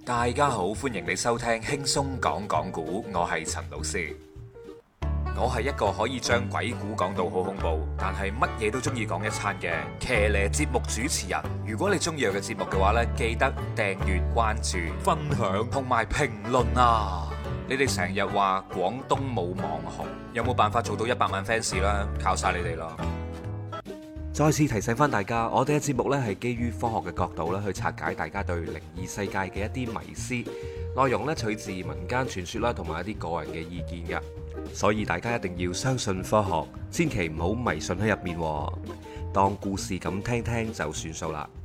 大家好，歡迎你收聽輕鬆講講古，我係陳老師。我係一個可以將鬼故講到好恐怖，但係乜嘢都中意講一餐嘅騎呢節目主持人。如果你中意我嘅節目嘅話呢，記得訂閱、關注、分享同埋評論啊！你哋成日話廣東冇網紅，有冇辦法做到100萬 fans 啦？靠晒你哋咯！再次提醒翻大家，我哋嘅節目呢係基於科學嘅角度咧去拆解大家對靈異世界嘅一啲迷思，內容呢取自民間傳說啦，同埋一啲個人嘅意見嘅，所以大家一定要相信科學，千祈唔好迷信喺入面，當故事咁聽聽就算數啦。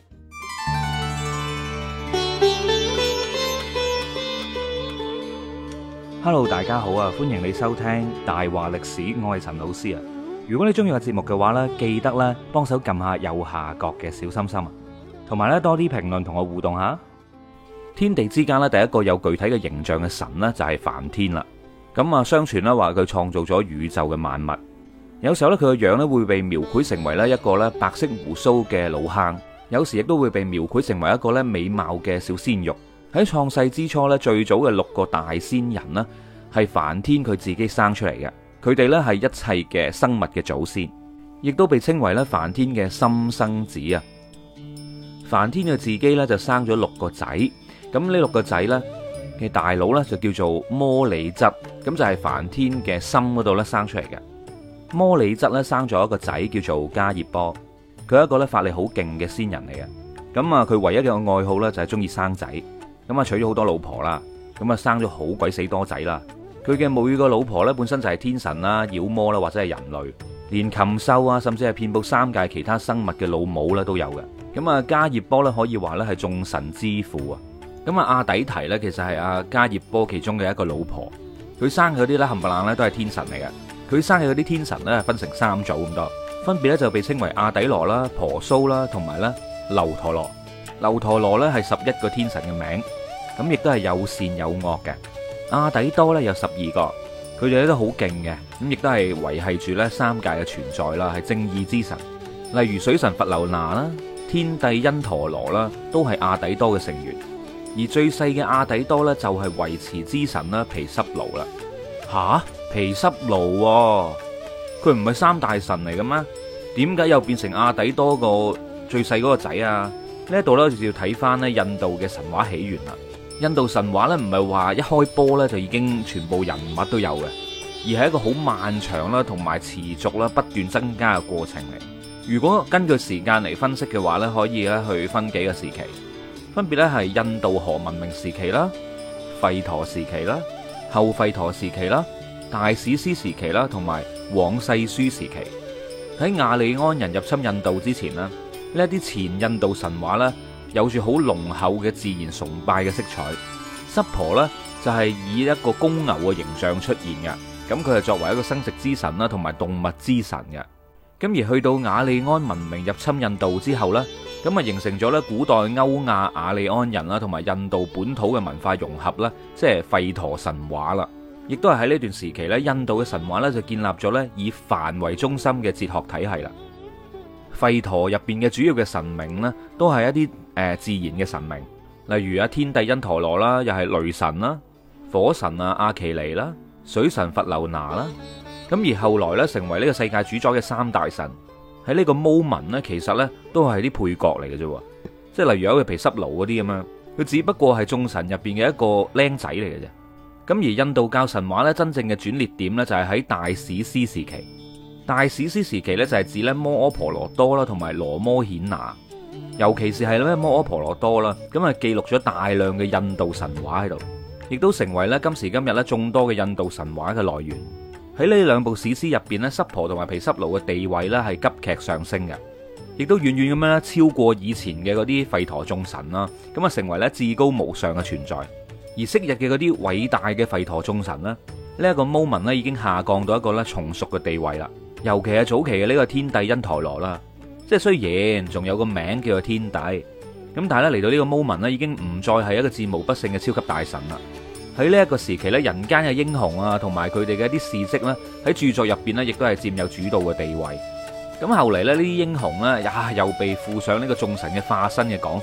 Hello， 大家好啊！歡迎你收聽大話歷史，我係陳老師啊。如果你中意個節目嘅話呢，記得咧幫手撳下右下角嘅小心心啊，同埋咧多啲評論同我互動下。天地之間咧，第一個有具體嘅形象嘅神呢，就係梵天啦。咁啊，相傳咧話佢創造咗宇宙嘅萬物。有時候咧佢個樣咧會被描繪成為咧一個咧白色鬍鬚嘅老坑，有時亦都會被描繪成為一個咧美貌嘅小鮮肉。喺創世之初咧，最早嘅6個大仙人呢，係梵天佢自己生出嚟嘅。佢哋咧係一切嘅生物嘅祖先，亦都被稱為咧梵天嘅心生子啊。梵天佢自己咧就生咗6個仔，咁呢6個仔咧嘅大佬咧就叫做摩里質，咁就係梵天嘅心嗰度咧生出嚟嘅。摩里質咧生咗一個仔叫做迦葉波，佢係一個咧法力好勁嘅仙人嚟嘅。咁啊，佢唯一嘅愛好咧就係中意生仔，咁啊娶咗好多老婆啦，咁啊生咗好鬼死多仔啦。佢嘅每個老婆咧本身就係天神啦、妖魔啦或者係人類，連禽獸啊，甚至係遍佈3界其他生物嘅老母咧都有嘅。咁啊，迦葉波咧可以話咧係眾神之父啊。咁啊，阿底提咧其實係阿迦葉波其中嘅一個老婆，佢生嘅嗰啲咧冚唪唥咧都係天神嚟嘅。佢生嘅嗰啲天神咧分成3組咁多，分別咧就被稱為阿底羅啦、婆蘇啦同埋咧樓陀羅。樓陀羅咧係11個天神嘅名，咁亦都係有善有惡嘅。阿底多咧有12個，佢哋咧都好勁嘅，咁亦都係維繫住咧3界嘅存在啦，係正義之神。例如水神佛留那啦、天帝因陀羅啦，都係阿底多嘅成員。而最細嘅阿底多咧就係維持之神啦，毗濕奴啦。吓，毗濕奴佢唔係3大神嚟嘅咩？點解又變成阿底多個最細嗰個仔啊？呢一度咧就要睇翻咧印度嘅神話起源啦。印度神話咧唔係話一開波咧就已經全部人物都有嘅，而係一個好漫長啦，同埋持續啦不斷增加嘅過程嚟。如果根據時間嚟分析嘅話咧，可以咧去分幾個時期，分別咧係印度河文明時期啦、吠陀時期啦、後吠陀時期啦、大史詩時期啦，同埋往世書時期。喺亞利安人入侵印度之前呢，呢一啲前印度神話咧，有住好濃厚嘅自然崇拜嘅色彩。濕婆呢，就係以一個公牛嘅形象出現嘅，咁佢係作為一個生殖之神啦，同埋動物之神嘅。咁而去到亞利安文明入侵印度之後呢，咁啊形成咗咧古代歐亞亞利安人啦，同埋印度本土嘅文化融合啦，即係吠陀神話啦。亦都係喺呢段時期咧，印度嘅神話咧就建立咗咧以梵為中心嘅哲學體系啦。吠陀入邊嘅主要嘅神明呢，都係一啲自然嘅神明，例如天帝因陀羅啦，又係雷神啦、火神阿耆尼啦、水神佛留那啦。咁而後來咧成為呢個世界主宰嘅3大神，喺呢個 moment 呢，其實呢都係啲配角嚟嘅啫，即係例如有個毗濕奴嗰啲咁樣，佢只不過係眾神入邊嘅一個僆仔嚟嘅啫。咁而印度教神話咧真正嘅轉捩點呢，就係喺大史詩時期。大史詩時期咧就係指咧摩訶婆羅多啦，同埋羅摩衍那，尤其是係咧摩訶婆羅多啦，咁啊記錄咗大量嘅印度神話喺度，亦都成為咧今時今日咧眾多嘅印度神話嘅來源。喺呢2部史詩入邊咧，濕婆同埋毗濕奴嘅地位咧係急劇上升嘅，亦都遠遠咁樣超過以前嘅嗰啲吠陀眾神啦，咁啊成為咧至高無上嘅存在。而昔日嘅嗰啲偉大嘅吠陀眾神咧，呢一個 moment 咧已經下降到一個咧從屬嘅地位啦。尤其係早期嘅呢個天帝因陀羅啦，即係雖然仲有個名叫做天帝，咁但係咧嚟到呢個 moment 咧已經唔再係一個戰無不勝嘅超級大神啦。喺呢一個時期咧，人間嘅英雄啊，同埋佢哋嘅一啲事蹟咧，喺著作入邊咧，亦都係佔有主導嘅地位。咁後嚟咧，呢啲英雄咧，又被附上呢個眾神嘅化身嘅講法，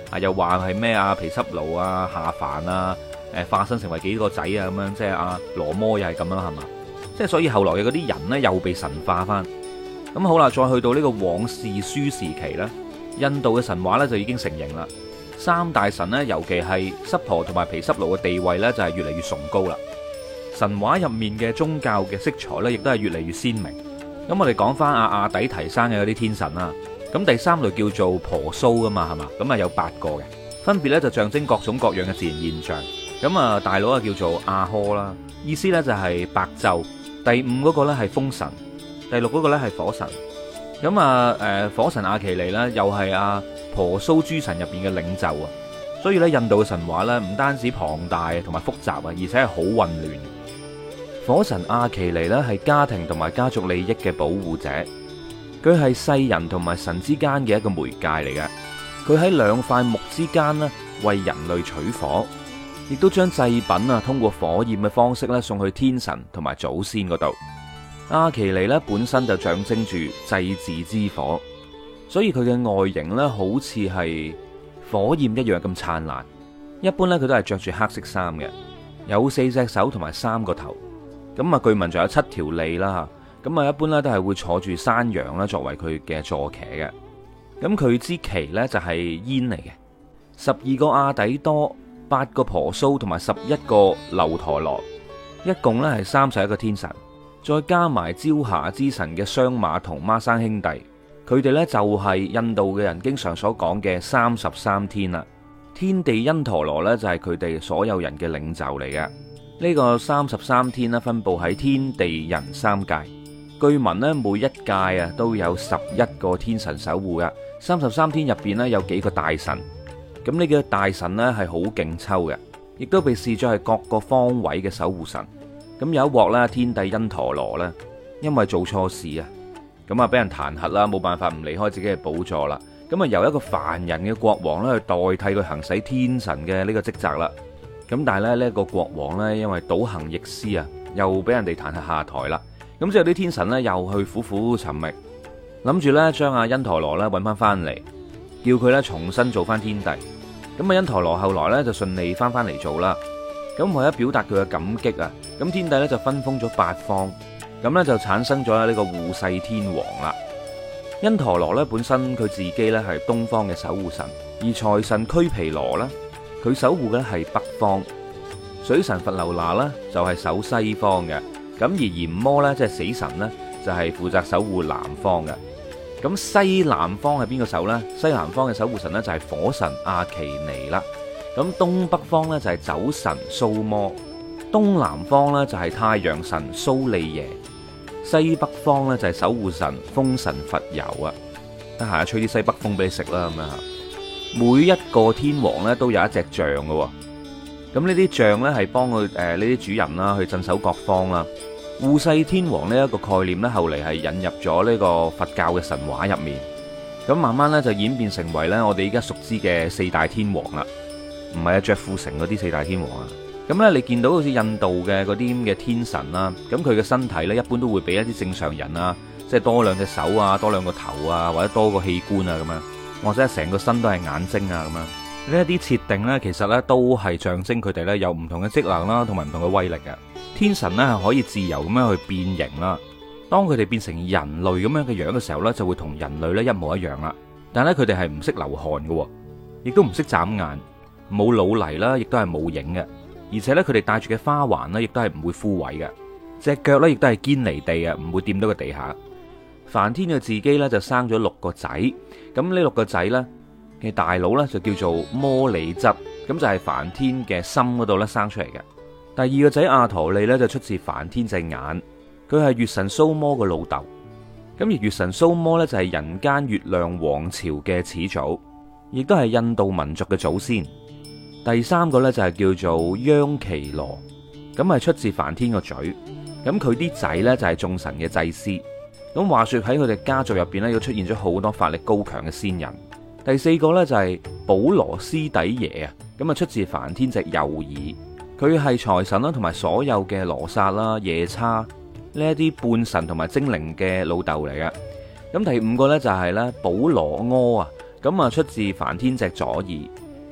又話係咩毗濕奴啊下凡啊，化身成為幾個仔啊咁樣，即係阿羅摩又係咁樣係嘛？即係所以後來嘅嗰啲人呢，又被神化翻。咁好啦，再去到呢個往事書時期呢，印度嘅神話呢就已經成形啦。三大神呢，尤其係濕婆同埋毗濕奴嘅地位呢，就係越嚟越崇高啦。神話入面嘅宗教嘅色彩呢，亦都係越嚟越鮮明。咁我哋講翻阿底提生嘅嗰啲天神啦。咁第三類叫做婆蘇噶嘛，係嘛？咁啊有8個嘅，分別呢就象徵各種各樣嘅自然現象。咁啊大佬啊叫做阿呵啦，意思呢就係白晝。第5嗰個呢係風神，第6嗰個呢係火神。咁啊火神阿奇尼呢，又係阿婆蘇諸神入邊嘅領袖啊。所以呢，印度嘅神話呢，唔單止龐大同埋複雜啊，而且係好混亂。火神阿奇尼呢，係家庭同埋家族利益嘅保護者，佢係世人同埋神之間嘅一個媒介嚟嘅。佢喺2塊木之間呢，為人類取火，亦都將祭品啊通過火焰嘅方式咧送去天神同埋祖先嗰度。阿奇尼咧本身就象徵住祭祀之火，所以佢嘅外形咧好似係火焰一樣咁燦爛。一般咧佢都係着住黑色衫嘅，有4隻手同埋3個頭。咁啊據聞仲有7條脷啦。咁啊一般咧都係會坐住山羊啦作為佢嘅坐騎嘅。咁佢支旗咧就係煙嚟嘅。12個阿底多、8個婆蘇同埋11個樓陀羅，一共咧係31個天神。再加埋朝霞之神嘅雙馬同孖生兄弟，佢哋呢就係印度嘅人經常所講嘅33天啦。天地因陀羅呢就係佢哋所有人嘅領袖嚟嘅。呢個33天呢分佈喺天地人3界，據聞呢每一界啊都有11個天神守護嘅。33天入邊呢有幾個大神，咁呢個大神呢係好勁抽嘅，亦都被視作係各個方位嘅守護神。咁有一鑊啦，天帝因陀羅咧，因為做錯事啊，咁啊俾人彈劾啦，冇辦法唔離開自己嘅寶座啦。咁啊由一個凡人嘅國王咧去代替佢行使天神嘅呢個職責啦。咁但係咧呢一個國王咧因為倒行逆施啊，又俾人哋彈劾下台啦。咁之後啲天神咧又去苦苦尋覓，諗住咧將阿因陀羅咧揾翻嚟，叫佢咧重新做翻天帝。咁啊因陀羅後來咧就順利翻嚟做啦。咁為咗表達佢嘅感激啊，咁天帝咧就分封咗8方，咁咧就產生咗呢個護世天王啦。因陀羅咧本身佢自己咧係東方嘅守護神，而財神拘毗羅咧佢守護嘅係北方，水神佛流那咧就係守西方嘅，咁而閻魔咧即係死神咧就係負責守護南方嘅。咁西南方係邊個守呢？西南方嘅守護神咧就係火神阿奇尼啦。咁東北方呢，就係酒神蘇摩，東南方呢，就係太陽神蘇利耶，西北方呢，就係守護神風神佛油啊！得閒吹啲西北風俾你食啦咁樣吓。每一個天王呢，都有一隻象嘅，咁呢啲象呢，係幫佢呢啲主人啦去鎮守各方啦。護世天王呢一個概念呢，後嚟係引入咗呢個佛教嘅神話入面，咁慢慢呢，就演變成為呢我哋依家熟知嘅4大天王啦。唔係啊，着富城嗰啲4大天王啊，咁呢，你見到好似印度嘅嗰啲咁嘅天神啦，咁佢嘅身體呢，一般都會比一啲正常人啊，即係多2隻手啊，多2個頭啊，或者多個器官啊咁樣，或者成個身都係眼睛啊咁樣。呢一啲設定呢，其實呢都係象徵佢哋呢有唔同嘅職能啦，同埋唔同嘅威力嘅。天神呢係可以自由咁樣去變形啦，當佢哋變成人類咁樣嘅樣嘅時候呢，就會同人類呢一模一樣啦。但係咧佢哋係唔識流汗嘅，亦都唔識眨眼。冇老泥啦，亦都係冇影嘅，而且咧佢哋戴住嘅花環咧，亦都係唔會枯萎嘅，隻腳咧亦都係堅離地啊，唔會掂到個地下。梵天佢自己咧就生咗6個仔，咁呢6個仔咧嘅大佬咧就叫做摩里執，咁就係梵天嘅心嗰度咧生出嚟嘅。第2個仔阿陀利咧就出自梵天隻眼，佢係月神蘇摩嘅老豆，咁而月神蘇摩咧就係人間月亮王朝嘅始祖，亦都係印度民族嘅祖先。第3個呢，就係叫做央奇羅，咁係出自梵天個嘴，咁佢啲仔呢，就係眾神嘅祭司。咁話說喺佢哋家族入邊呢，又出現咗好多法力高強嘅仙人。第4個呢，就係保羅斯底耶啊，咁啊出自梵天隻右耳，佢係財神啦，同埋所有嘅羅剎啦、夜叉呢一啲半神同埋精靈嘅老豆嚟嘅。咁第5個呢，就係咧保羅柯啊，咁啊出自梵天隻左耳。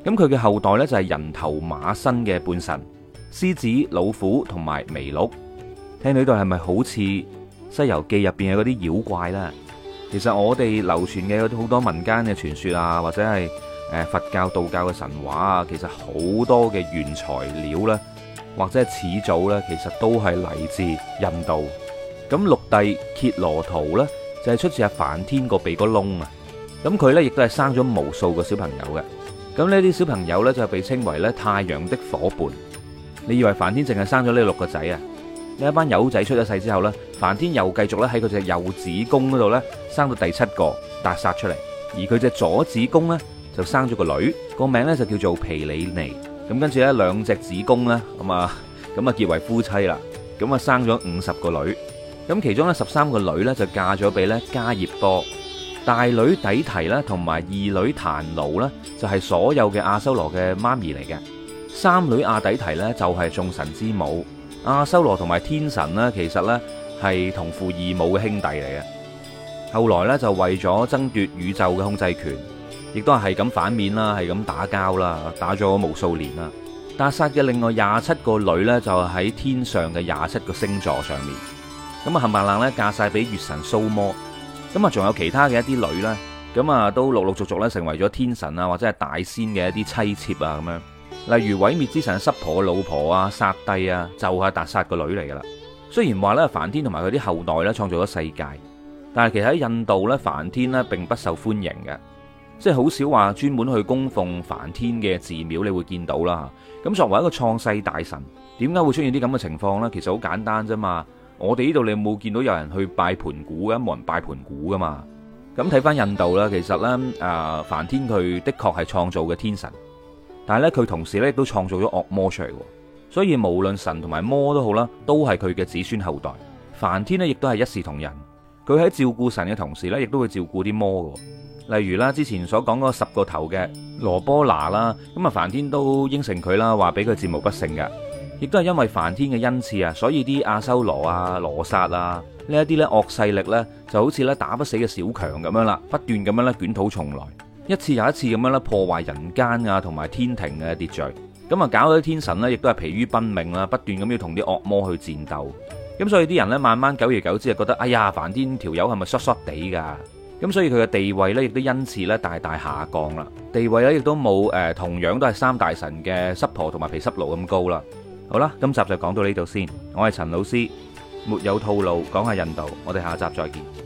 咁佢嘅後代呢，就係人頭馬身嘅半神、獅子、老虎同埋麋鹿。聽到呢度係咪好似《西遊記》入邊嘅嗰啲妖怪呢？其實我哋流傳嘅好多民間嘅傳說啊，或者係佛教、道教嘅神話啊，其實好多嘅原材料呢，或者係始祖呢，其實都係嚟自印度。咁六帝羯羅圖呢，就係出自阿梵天個鼻哥窿啊。咁佢呢，亦都係生咗無數個小朋友嘅。咁呢啲小朋友呢，就被稱為咧太陽的伙伴。你以為梵天淨係生咗呢6個仔啊？呢一班友仔出咗世之後呢，梵天又繼續咧喺佢隻右子宮嗰度呢，生到第7個達薩出嚟，而佢隻左子宮呢，就生咗個女，個名呢，就叫做毗梨尼。咁跟住呢，2隻子宮呢，咁啊結為夫妻啦。咁啊生咗50個女。咁其中呢13個女呢，就嫁咗俾咧迦葉多。大女底提咧同埋2女檀奴呢，就係所有嘅阿修羅嘅媽咪嚟嘅。3女阿底提呢，就係眾神之母。阿修羅同埋天神呢，其實呢係同父異母嘅兄弟嚟嘅。後來呢，就為咗爭奪宇宙嘅控制權，亦都係咁反面啦，係咁打交啦，打咗無數年啦。達薩嘅另外27個女呢，就喺天上嘅27個星座上面。咁啊冚唪唥咧嫁晒俾月神蘇摩。咁啊仲有其他嘅一啲女呢，咁啊都陸陸續續咧成為咗天神啊或者係大仙嘅一啲妻妾啊咁樣。例如毀滅之神濕婆嘅老婆啊，剎帝啊，就係達薩個女嚟噶啦。雖然話咧梵天同埋佢啲後代咧創造咗世界，但係其實喺印度咧梵天咧並不受歡迎嘅，即係好少話專門去供奉梵天嘅寺廟你會見到啦。咁作為一個創世大神，點解會出現啲咁嘅情況呢？其實好簡單啫嘛。我哋呢度你有冇見到有人去拜盤古嘅？冇人拜盤古噶嘛。咁睇翻印度啦，其實呢，梵天佢的確係創造嘅天神。但係咧，佢同時咧亦都創造咗惡魔出嚟，所以無論神同埋魔都好啦，都係佢嘅子孫後代。梵天呢亦都係一視同仁，佢喺照顧神嘅同時咧，亦都會照顧啲魔嘅。例如啦，之前所講嗰10個頭嘅羅波那啦，咁啊梵天都應承佢啦，話俾佢戰無不勝嘅。亦都係因為梵天嘅恩賜啊，所以啲阿修羅啊、羅剎啊呢一啲咧惡勢力咧，就好似咧打不死嘅小強咁樣啦，不斷咁樣咧捲土重來。一次又一次咁樣咧破壞人間啊同埋天庭嘅秩序，咁啊搞到啲天神呢亦都係疲於奔命啦，不斷咁要同啲惡魔去戰鬥。咁所以啲人呢，慢慢久而久之就覺得，哎呀，梵天條友係咪衰衰地噶？咁所以佢嘅地位呢，亦都因此咧大大下降啦。地位咧亦都冇同樣都係3大神嘅濕婆同埋毗濕奴咁高啦。好啦，今集就講到呢度先。我係陳老師，沒有套路講下印度，我哋下集再見。